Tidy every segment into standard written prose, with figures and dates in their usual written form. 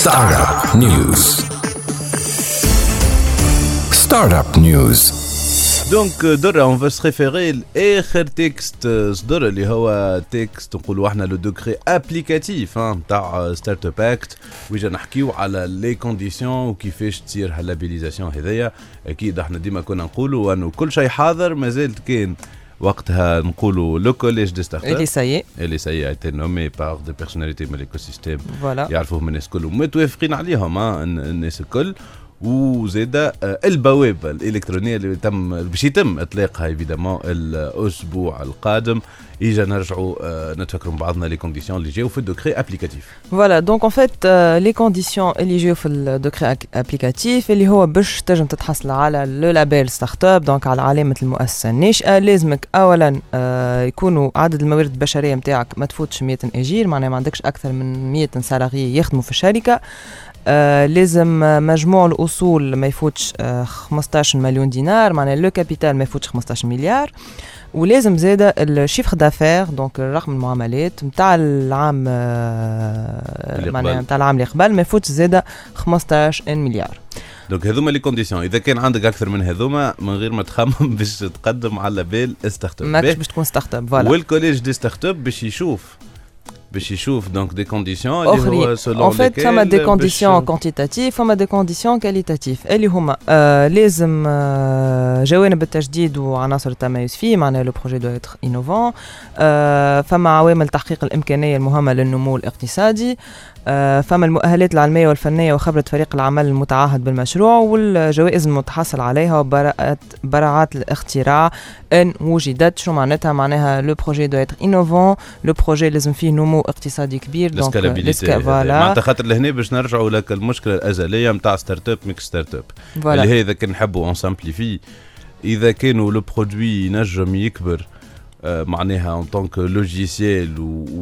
Startup News. Startup News. دونك درة on va se référer لآخر تكست صدر اللي هو تكست نقولوا احنا لو دوكري ابليكاتيف نتاع ستارت اب اكت ويجا نحكيو على لي كونديسيون وكيفاش تصير هاللابيليزاسيون هذيا. اكيد احنا ديما كنا نقولوا انه كل شيء حاضر، مازالت كان وقتها نقولوا لو كوليج دي ستارت اب اللي سي ايتي نومي بار دي بيرسوناليتي من الايكوسيستيم يعرفوهم الناس كل ومتوافقين عليهم الناس الكل. وزيدا البوابه الالكترونيه اللي باش يتم اطلاقها ايفيدامون الاسبوع القادم. اجا نرجعوا نتفكروا بعضنا لي كونديسيون اللي جاوا في الدوكري ابليكاتيف. فوالا دونك ان فيت لي كونديسيون اللي جاوا في الدوكري ابليكاتيف اللي هو باش تنجم تتحصل على لو لابيل ستارت اب، دونك على علامه المؤسسه الناشئه. لازمك اولا يكونوا عدد الموارد البشريه نتاعك ما تفوتش 100 اجير، معناها ما عندكش اكثر من 100 سالاري يخدموا في الشركه. لازم مجموع الأصول ما يفوتش 15 مليون دينار، معناها لو كابيتال ما يفوتش 15 مليار. ولازم زيادة الشيفر دافير دونك رقم المعاملات نتاع العام معناها نتاع العام اللي قبل ما يفوتش زيادة 15 مليار. دونك هذوما لي كونديسيون. اذا كان عندك اكثر من هذوما من غير ما تخمم باش تقدم على بال ستارت اب، ماكش باش تكون ستارت اب. فوالا والكوليج دي ستارت اب باش يشوف دونك دي كونديسيون اللي هو سولون en fait فما دي كونديسيون كوانتيتاتيف فما دي كونديسيون كاليتاتيف اللي هما لازم جوانب التجديد وعناصر التميز فيه، معناها لو بروجي دو اتر انوفون. فما عوامل تحقيق الامكانيه المهمه للنمو الاقتصادي. فما المؤهلات العلميه والفنيه وخبره فريق العمل المتعهد بالمشروع، والجوائز المتحصل عليها وبراعات الاختراع ان وجدت. شو معناتها لو بروجي دو اتر انوفون، لو بروجي لازم فيه نمو اقتصادي كبير. دونك معناتها خاطر لهنا باش نرجعوا لك المشكله الازليه نتاع ستارت اب ميكس ستارت اب اللي هي اذا كان نحبوا اون سامبليفي، اذا كانوا لو برودوي ينجم يكبر معناها ان طونك لوجيسيال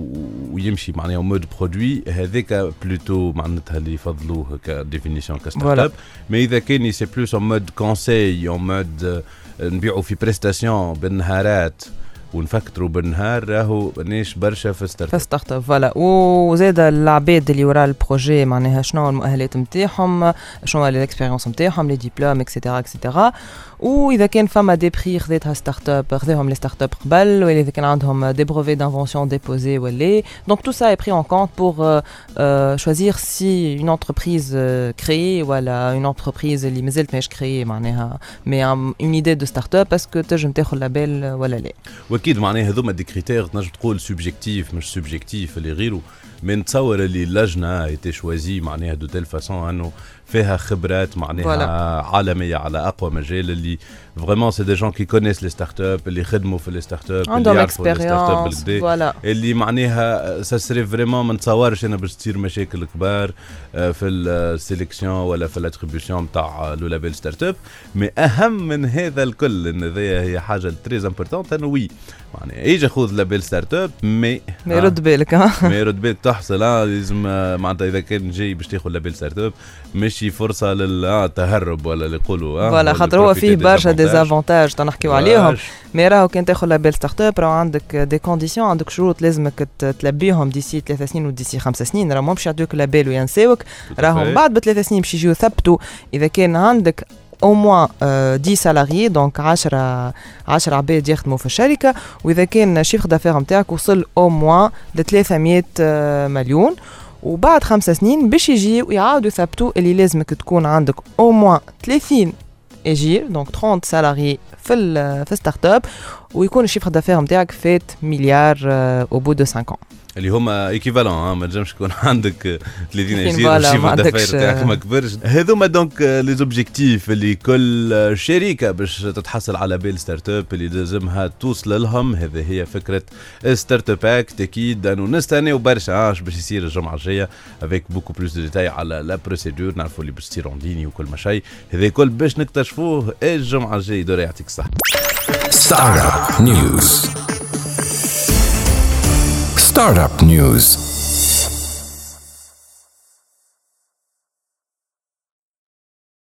ويمشي معناها مود برودوي، هذاك بلوتو معناتها اللي يفضلوه كديفينيسيون كستارت اب. مي اذا كان سي بلوس ان مود كونساي ان مود نبيعوا في بريستاسيون بالنهارات ونفكروا بالنهار، راهو ناش برشا في ستارت اب. فوالا وزاد العباد اللي وراء البروجي معناها شنو المؤهلات نتاعهم، شنو الاكسبيريونس نتاعهم، لي ديبلوم اكسيتيرا اكسيتيرا. واذا كان فما دي بري خذيتها ستارت اب خذيهم لي ستارت اب قبل، ولا اذا كان عندهم دي بروفي دانفونسيون ديبوزي ولا. دونك تو سا اي بري اون كونت بور choisir si une entreprise créée ولا une entreprise اللي مازالت ماهيش créée معناها مي une idée de start up parce que تنجم تاخذ لابيل ولا لا. واكيد معناها هذوما دي كريتير تنجم تقول سوبجيكتيف مش سوبجيكتيف اللي غيره. من نتصور اللي اللجنه ايتي شوازي معناها دو تيل فاسون انه فيها خبرات معناها عالميه على اقوى مجال، اللي فريمون سي دي جون كي كونيس لي ستارت اب، اللي خدموا في لي ستارت اب، اللي يعرفوا لي ستارت اب بالكدا، اللي معناها ساسري فريمون ما نتصورش انا باش تصير مشاكل كبار في السيليكسيون ولا في الاتريبيوشن نتاع لو لابيل ستارت اب. مي اهم من هذا الكل ان هي حاجه تري امبورطونت انه وي معناها يجي خذ لابيل ستارت اب مي يرد بالك ما يرد بالك تحصل لازم معناتها اذا كان جاي باش تاخذ لابيل ستارت اب ماشي فرصه للتهرب ولا اللي يقولوا فوالا خاطر هو فيه برشا ديزافونتاج تنحكيو عليهم. مي راهو كان تاخذ لابيل ستارت اب راهو عندك دي كونديسيون، عندك شروط لازمك تلبيهم ديسي 3 سنين وديسي 5 سنين. راهو مش يعطيوك لابيل وينساوك، راهو بعد ب3 سنين باش يجيو يثبتوا اذا كان عندك au moins 10 salariés دونك 10 عباد يخدموا في الشركه، واذا كان شيفر دافير نتاعك وصل au moins ل 300 مليون. وبعد 5 سنين باش يجي ويعاودوا يثبتوا اللي لازمك تكون عندك au moins 30 اجير دونك 30 سالاري في ستارت اب، ويكون الشيفر دافير نتاعك فات مليار au bout de 5 ans اللي هما ايكيفالون. ما تنجمش يكون عندك 30 اجير الشيفر دافير تاعك ما كبرش. هذوما دونك لي زوبجيكتيف اللي كل شركه باش تتحصل على بال ستارت اب اللي لازمها توصل لهم. هذه هي فكره ستارت اب اكت. اكيد انه نستناو برشا باش يصير الجمعه الجايه افيك بوكو بلوس دو ديتاي على لا بروسيدور، نعرفوا اللي باش تصير اون ليني وكل ما شيء. هذا الكل باش نكتشفوه الجمعه الجايه. دور يعطيك الصحه. Startup News. Startup News.